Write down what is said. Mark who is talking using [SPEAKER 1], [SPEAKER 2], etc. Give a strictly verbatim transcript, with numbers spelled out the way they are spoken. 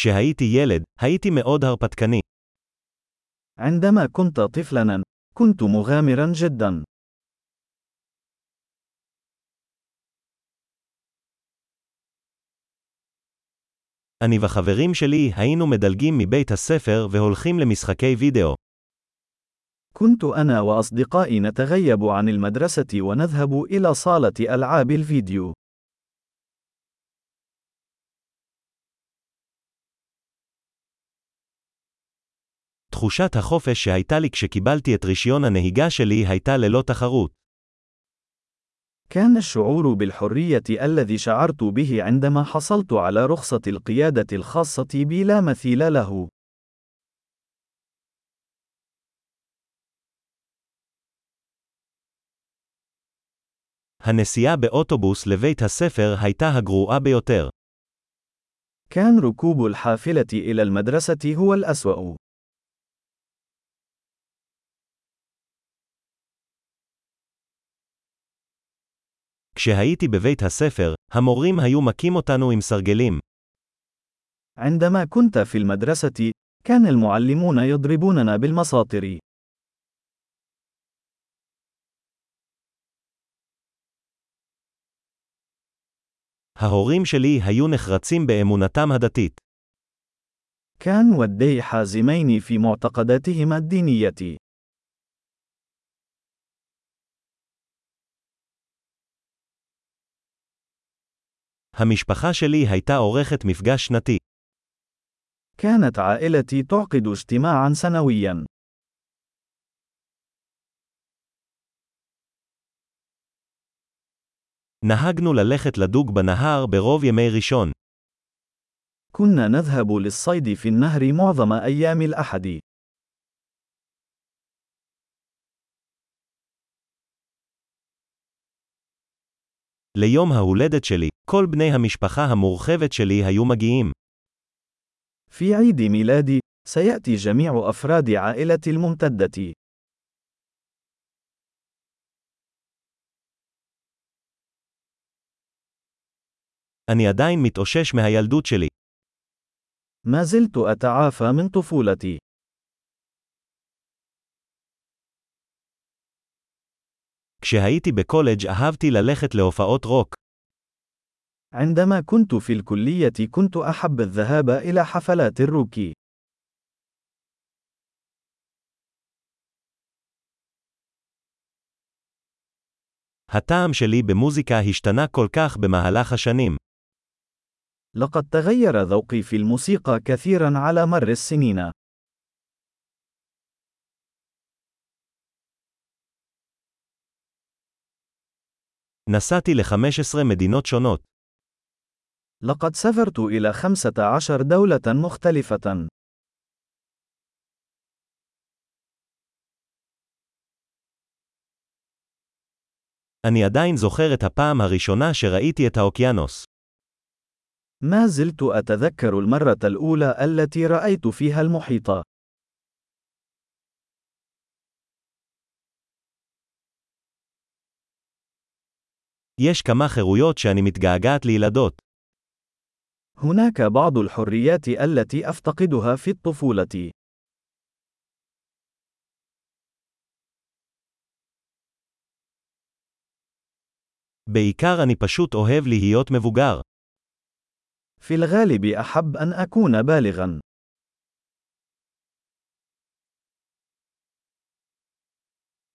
[SPEAKER 1] כשהייתי ילד, הייתי מאוד הרפתקני.
[SPEAKER 2] عندما كنت طفلاً، كنت مغامراً جداً.
[SPEAKER 1] אני וחברים שלי היינו מדלגים מבית הספר והולכים למשחקי וידאו.
[SPEAKER 2] كنت أنا وأصدقائي نتغيب عن المدرسة ونذهب إلى صالة ألعاب الفيديو.
[SPEAKER 1] תחושת החופש שהייתה לי כשקיבלתי את רישיון הנהיגה שלי הייתה ללא תחרות.
[SPEAKER 2] كان الشعور بالحرية الذي شعرت به عندما حصلت على رخصة القيادة الخاصة بي لا مثيل له.
[SPEAKER 1] הנסיעה באוטובוס לבית הספר הייתה הגרועה ביותר.
[SPEAKER 2] كان ركوب الحافلة إلى المدرسة هو الأسوأ.
[SPEAKER 1] כשהייתי בבית הספר, המורים היו מכים אותנו עם סרגלים.
[SPEAKER 2] عندما كنت في المدرسة، كان المعلمون يضربوننا بالمساطر.
[SPEAKER 1] ההורים שלי היו נחרצים באמונתם הדתית.
[SPEAKER 2] كان والدي حازمين في معتقداتهما الدينية.
[SPEAKER 1] המשפחה שלי הייתה עורכת מפגש שנתי.
[SPEAKER 2] كانت عائلتي تعقد اجتماعاً سنوياً.
[SPEAKER 1] נהגנו ללכת לדוג בנהר ברוב ימי ראשון.
[SPEAKER 2] كنا نذهب للصيد في النهر معظم أيام الأحد.
[SPEAKER 1] ליום ההולדת שלי, כל בני המשפחה המורחבת שלי היו מגיעים.
[SPEAKER 2] في عيد ميلادي، سيأتي جميع أفراد عائلتي الممتدة.
[SPEAKER 1] אני עדיין מתאושש מהילדות שלי.
[SPEAKER 2] ما زلت أتعافى من طفولتي.
[SPEAKER 1] כשהייתי בקולג' אהבתי ללכת להופעות רוק.
[SPEAKER 2] عندما كنت في الكلية كنت أحب الذهاب إلى حفلات الروك.
[SPEAKER 1] הטעם שלי במוזיקה השתנה כל כך במהלך השנים.
[SPEAKER 2] لقد تغير ذوقي في الموسيقى كثيرا على مر السنين.
[SPEAKER 1] נסעתי ל-חמש עשרה מדינות שונות.
[SPEAKER 2] لقد سافرت إلى خمسة عشر دولة مختلفة.
[SPEAKER 1] אני עדיין זוכר את הפעם הראשונה שראיתי את האוקיינוס.
[SPEAKER 2] ما زلت أتذكر المرة الأولى التي رأيت فيها المحيط.
[SPEAKER 1] יש כמה חירויות שאני מתגעגעת לילדות.
[SPEAKER 2] هناك بعض الحريات التي أفتقدها في الطفولة.
[SPEAKER 1] בעיקר אני פשוט אוהב להיות מבוגר.
[SPEAKER 2] في الغالب أحب أن أكون بالغاً.